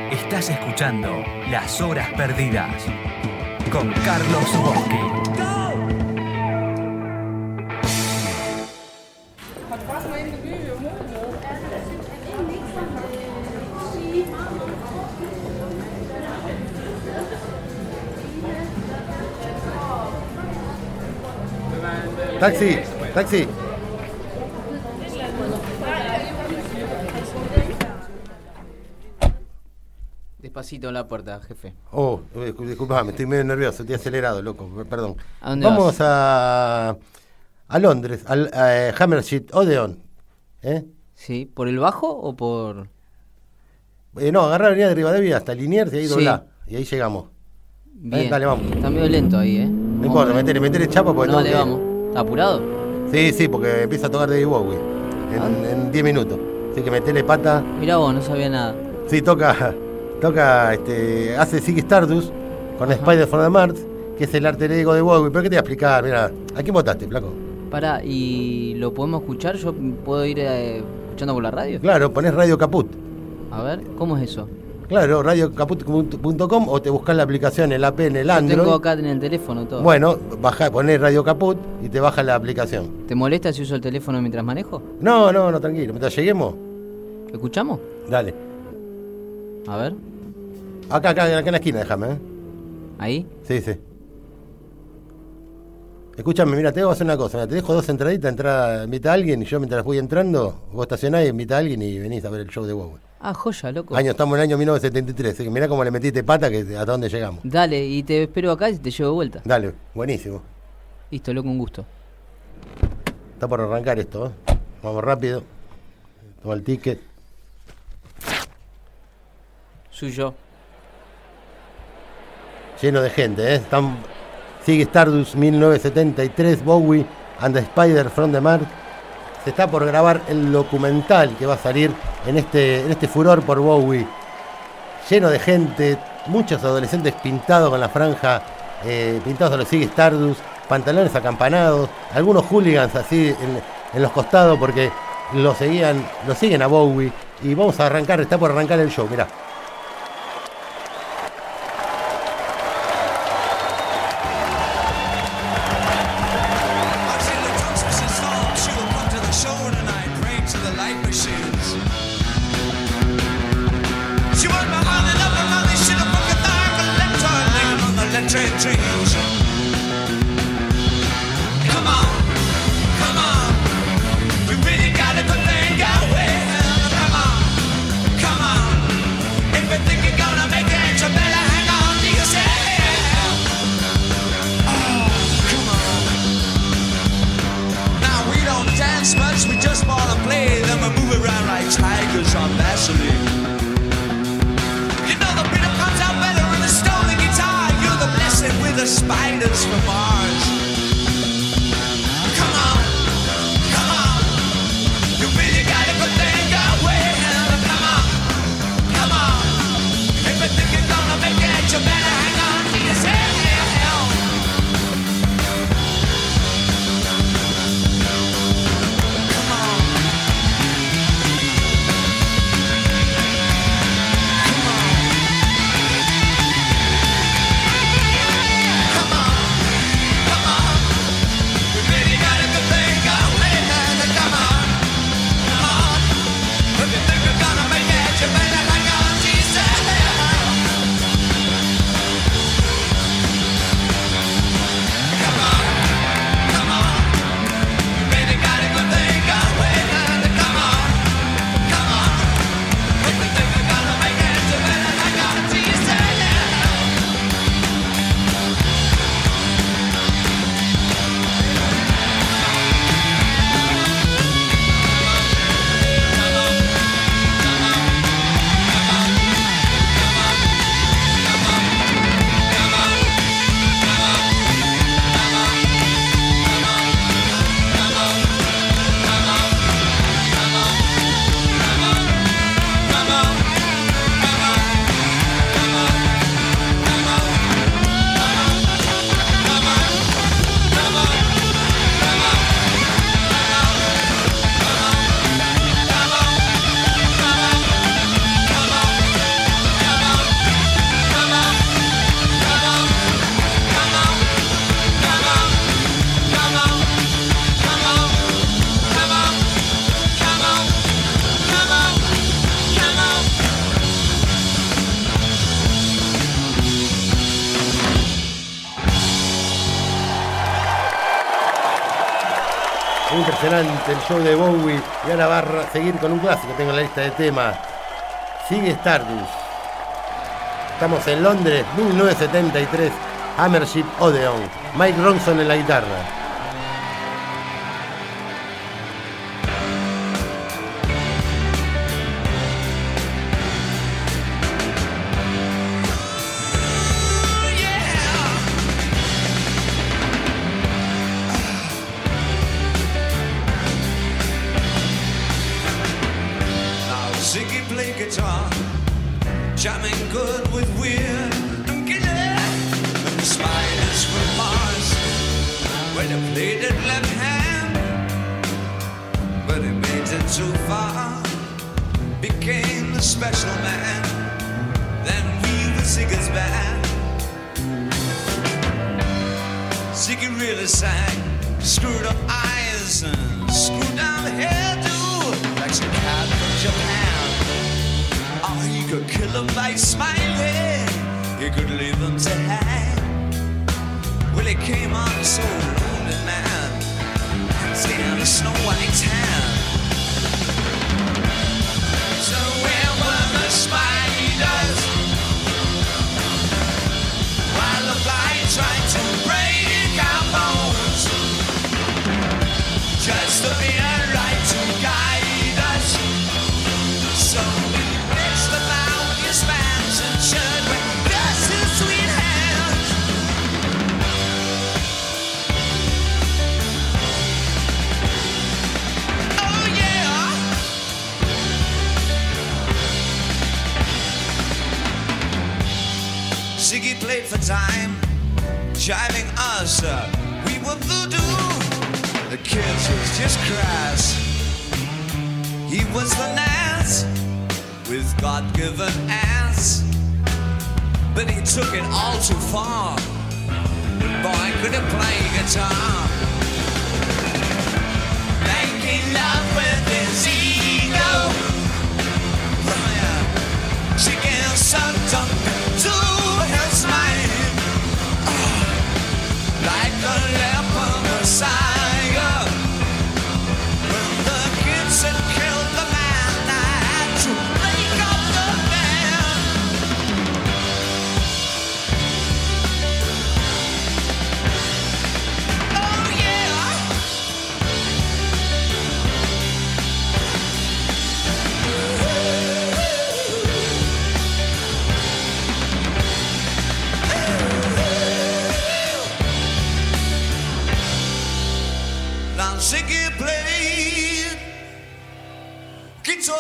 Estás escuchando Las Horas Perdidas con Carlos Boschi. Taxi, taxi. Despacito en la puerta, jefe. Oh, disculpame, estoy medio nervioso, estoy acelerado, loco, perdón. ¿A dónde Vamos vas? a Londres, al Hammersmith Odeon. Sí, ¿por el bajo o por...? No, agarrar la avenida de Rivadavia hasta Liniers y ahí Sí. doblá, y ahí llegamos. Bien. Dale, vamos. Está medio lento ahí, No importa, metele chapa porque No, tengo le que- vamos. ¿Está apurado? Sí, porque empieza a tocar David Bowie en 10 minutos. Así que metele pata. Mirá vos, no sabía nada. Sí, hace Ziggy Stardust con Spider from the Mars, que es el alter ego de Bowie. ¿Pero qué te voy a explicar? Mira, ¿a quién votaste, flaco? Pará, ¿y lo podemos escuchar? ¿Yo puedo ir escuchando por la radio? Claro, ponés Radio Caput. A ver, ¿cómo es eso? Claro, radiocaput.com o te buscás la aplicación, el app en el Yo Android. tengo acá en el teléfono todo. Bueno, ponés Radio Caput y te baja la aplicación. ¿Te molesta si uso el teléfono mientras manejo? No, tranquilo. Mientras lleguemos, ¿Escuchamos? dale. A ver, Acá en la esquina, déjame, ahí. Sí. Escúchame, mira, te voy a hacer una cosa. Mira, te dejo 2 entraditas, invita a alguien y yo mientras voy entrando, vos estacionás y invita a alguien y venís a ver el show de Bowie. Ah, joya, loco. Estamos en el año 1973, así que mirá cómo le metiste pata que hasta dónde llegamos. Dale, y te espero acá y te llevo de vuelta. Dale, buenísimo. Listo, loco, un gusto. Está por arrancar esto, ¿eh? Vamos rápido. Toma el ticket. Suyo. Lleno de gente, ¿eh? Sigue Stardust 1973, Bowie and the Spider from the Mars. Se está por grabar el documental que va a salir en este furor por Bowie. Lleno de gente, muchos adolescentes pintados con la franja, pintados a los Sigue Stardust, pantalones acampanados, algunos hooligans así en los costados porque lo siguen a Bowie. Y vamos a arrancar, está por arrancar el show, mirá. Spiders from Mars. Come on, you really gotta put things away. Come on, if you think you're gonna make it, you better hang on to yourself. Come on. Impresionante el show de Bowie. Y ahora va a seguir con un clásico. Tengo en la lista de temas. Sigue Stardust. Estamos en Londres, 1973. Hammership Odeon. Mike Ronson en la guitarra. Jamming good with weird and killer and the spiders from Mars when he played it left hand, but he made it too far, became the special man. Then we were Ziggy's band. Ziggy really sang, screwed up eyes and screwed down the hairdo like some cat from Japan. Oh, he could kill them by smiling, he could leave them to hang. Well, he came on so lonely, man, stand a Snow White's hand. So where were the spiders while the fly tried to break our bones? Just to be a right to guide us. So spans and shirt with just his sweet hands. Oh yeah. Ziggy played for time, jiving us. We were voodoo. The kids was just crass. He was the Nas with God-given ass, but he took it all too far. Boy, could he play guitar, making love with his ego. Oh, yeah. She gave some tongue to his mind, oh, like a leper messiah. When the kids had killed the man, I had to break up the band. Oh yeah. Now Ziggy played guitar.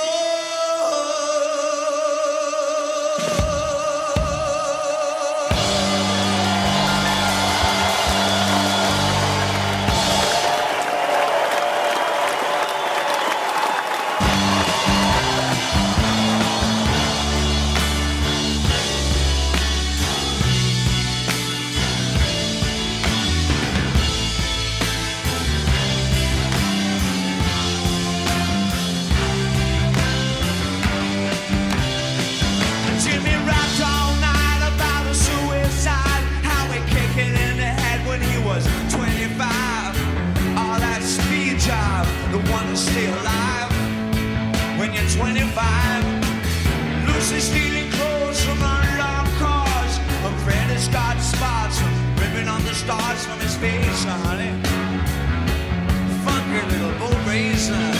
Jimmy rapped all night about a suicide, how he kicked it in the head when he was 25. All that speed job, the one to stay alive when you're 25. Lucy stealing clothes from unlocked cars, and Freddy's got spots ripping on the stars from his face, honey. Funky little boat racer.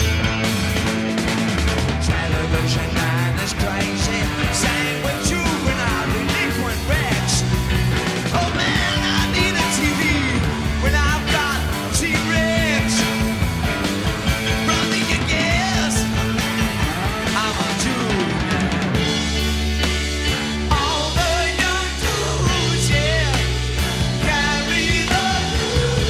Television man is crazy, sang with juvenile delinquent wrecks. Oh man, I need a TV when I've got T-Rex. Brother, you guess I'm a Jew. All the young dudes, yeah, carry the blues.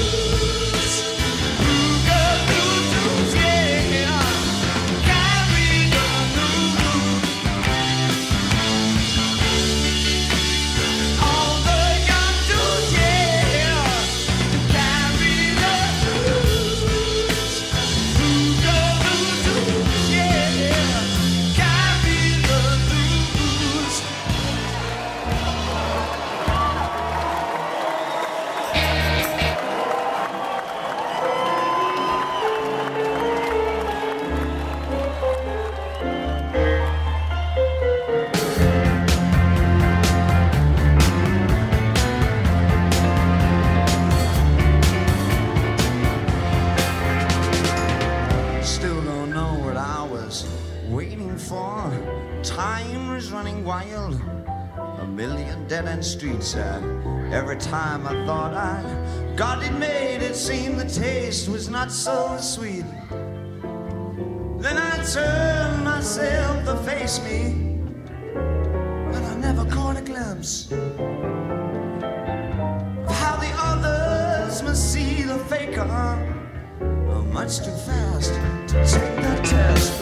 crime is running wild, a million dead-end streets. Every time I thought I got it made, it seemed the taste was not so sweet. Then I turned myself to face me, but I never caught a glimpse of how the others must see the faker much too fast to take that test.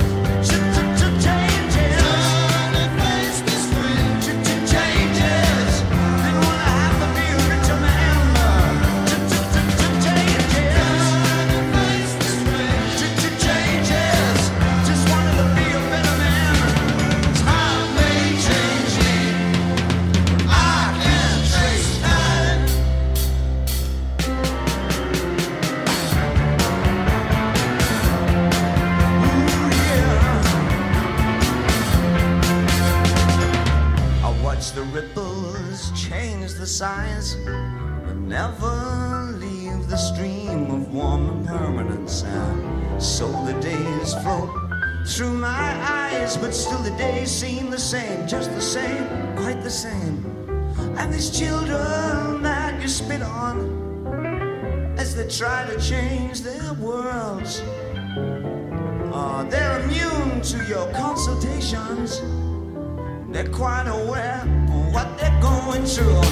Size, but never leave the stream of warm and permanent sound. So the days float through my eyes, but still the days seem the same, just the same, quite the same. And these children that you spit on as they try to change their worlds, they're immune to your consultations. They're quite aware of what they're going through.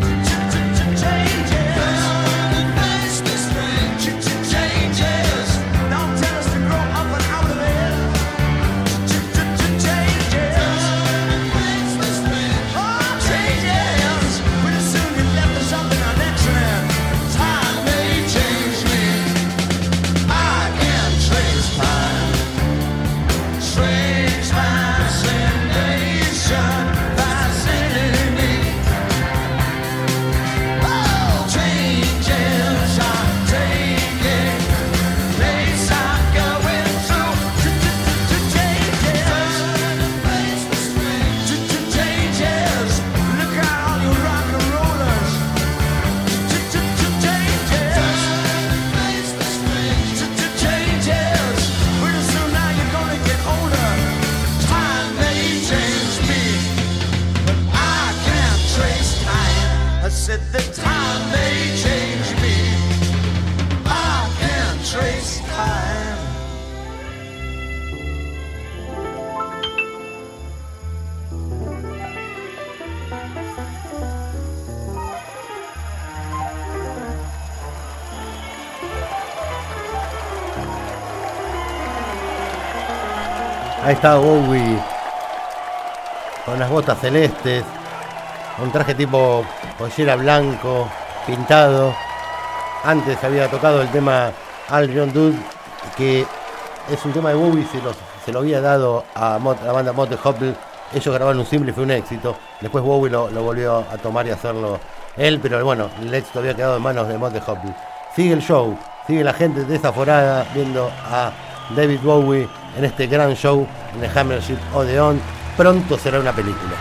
Ahí está Bowie con las botas celestes, un traje tipo pollera blanco, pintado. Antes había tocado el tema All John Dude, que es un tema de Bowie, se lo había dado a la banda Mott the Hoople. Ellos grabaron un simple y fue un éxito. Después Bowie lo volvió a tomar y hacerlo él, pero bueno, el éxito había quedado en manos de Mott the Hoople. Sigue el show, sigue la gente desaforada viendo a David Bowie en este gran show en el Hammersmith Odeon. Pronto será una película.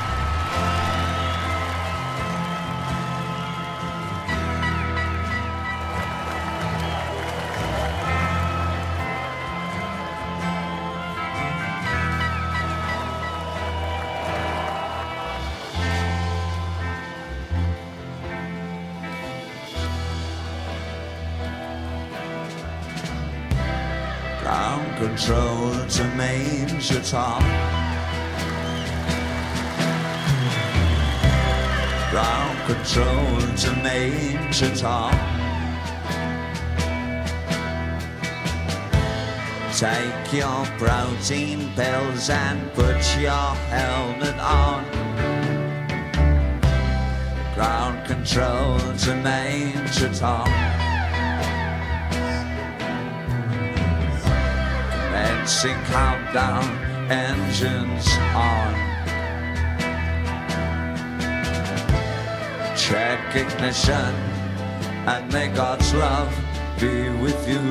Ground control to Major Tom. Ground control to Major Tom. Take your protein pills and put your helmet on. Ground control to Major Tom. Commencing countdown, engines on. Check ignition and may God's love be with you.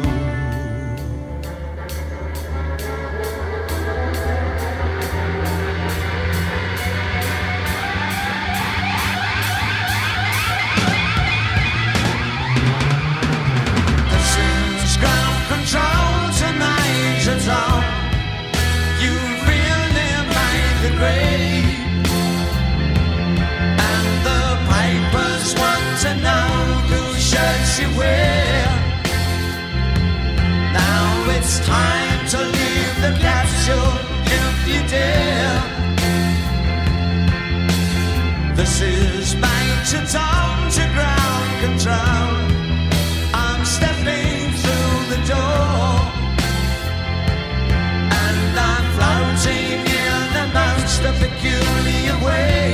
grave. And the pipers want to know whose shirt she wear. Now it's time to leave the capsule if you dare. This is Major Tom to ground control. I'm stepping through the door, and I'm floating in the most peculiar way.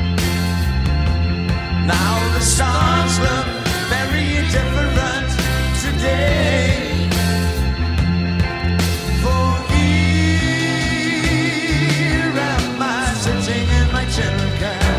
Now the stars look very different today. For here am I sitting in my tin can.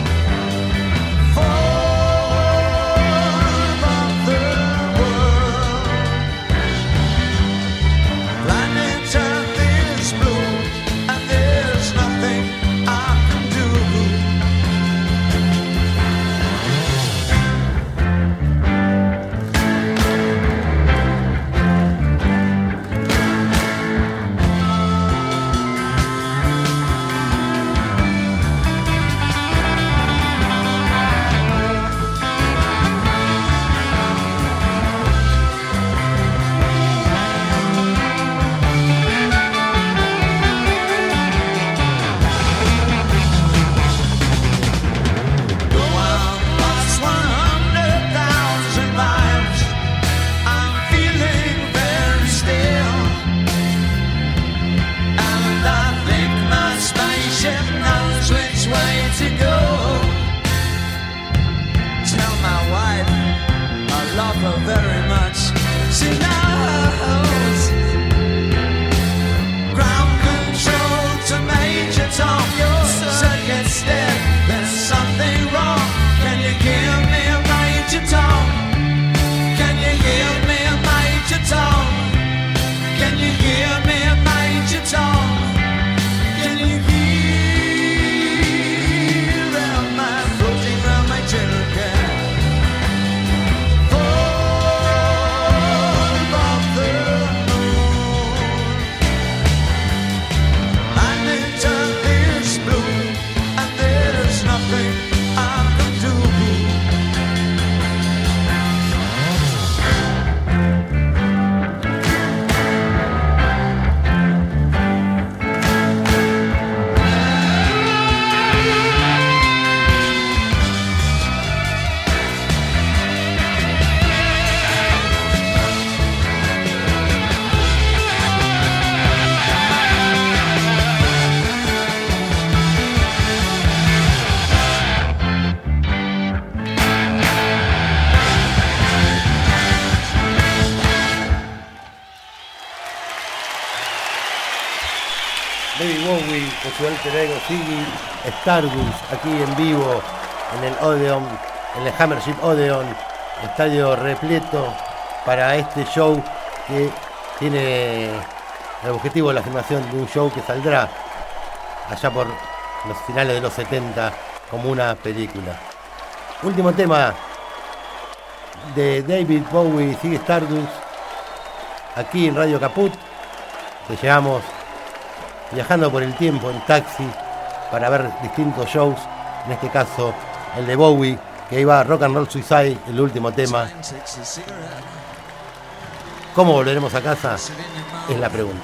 Very much. She knows. Ground control to Major Tom. Your circuit's dead. There's something wrong. Can you hear me, Major Tom? Can you hear me, Major Tom? Can you hear me, Major Tom? Can you hear? Am I floating around my tin can? David Bowie con su alter ego Ziggy Stardust, aquí en vivo en el Odeon, en el Hammership Odeon, estadio repleto para este show que tiene el objetivo de la filmación de un show que saldrá allá por los finales de los 70 como una película. Último tema de David Bowie, Ziggy Stardust, aquí en Radio Caput. Te llevamos viajando por el tiempo en taxi para ver distintos shows, en este caso el de Bowie, que iba a Rock and Roll Suicide, el último tema. ¿Cómo volveremos a casa? Es la pregunta.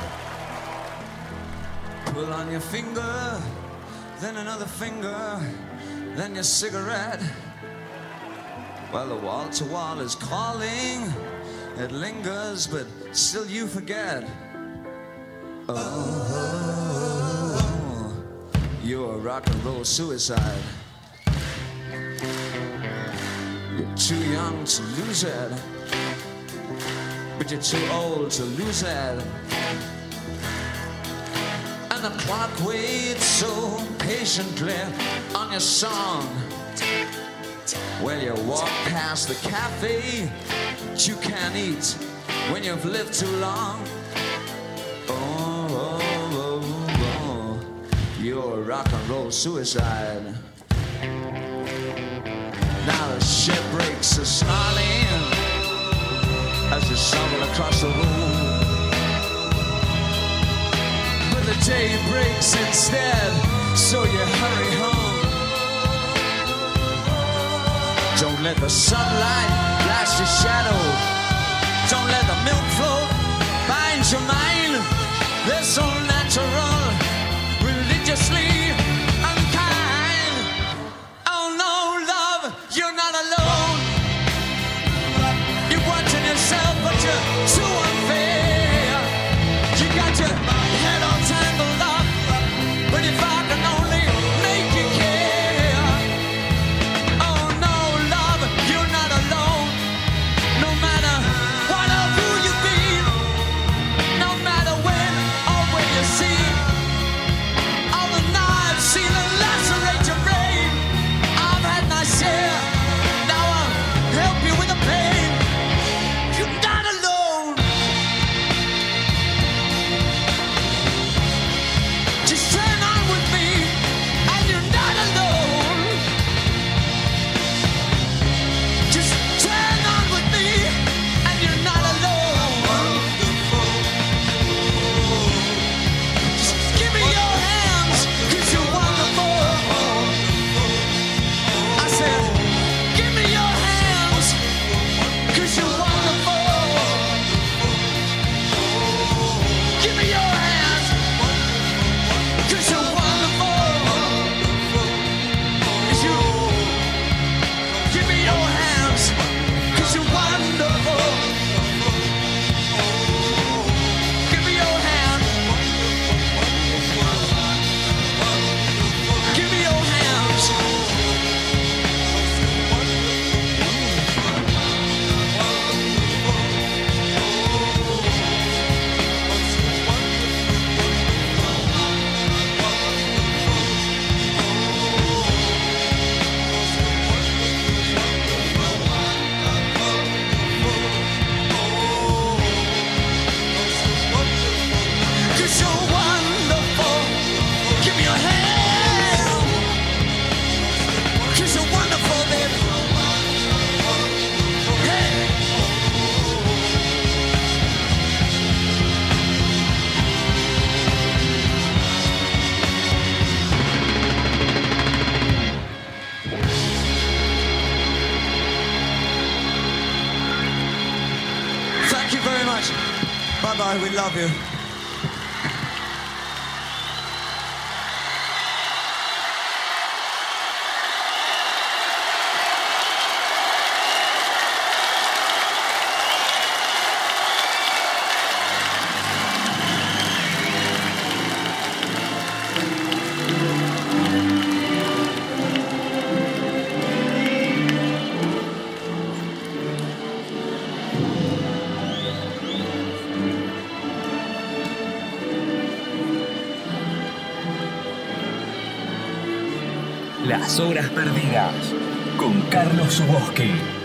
Pull on your finger, then another finger, then your cigarette. Well, the wall to wall is calling, it lingers, but still you forget. Oh, you're a rock and roll suicide. You're too young to lose it, but you're too old to lose it. And the clock waits so patiently on your song. Well, you walk past the cafe that you can't eat when you've lived too long. You're a rock and roll suicide. Now the ship breaks are snarling as you stumble across the room. But the day breaks instead so you hurry home. Don't let the sunlight blast your shadow. Don't let the milk float bind your mind. They're so natural, religiously unkind. Oh no, love, you're not alone. You're watching yourself, but you're too unfair. You got your head all tangled up, but if I can only make you care. Oh no, love, you're not alone. No matter what or who you've been, no matter when or where you see, all the knives seal and lacerate your brain. I've had my share, now I'll help you with the pain. You're not alone. Just turn on with me, and you're not alone. Just turn on with me, and you're not alone. Just give me your hands, 'cause you're wonderful. I said, give me your hands, 'cause you're wonderful. Give me your hands, 'cause you're wonderful. You give me your hands, 'cause you're wonderful. Give me your hand. Give me your hands. Cause you're wonderful. Give me your hand. Cause you're wonderful, baby. Hey. Thank you very much. Bye-bye, we love you. Las horas perdidas con Carlos Zuboski.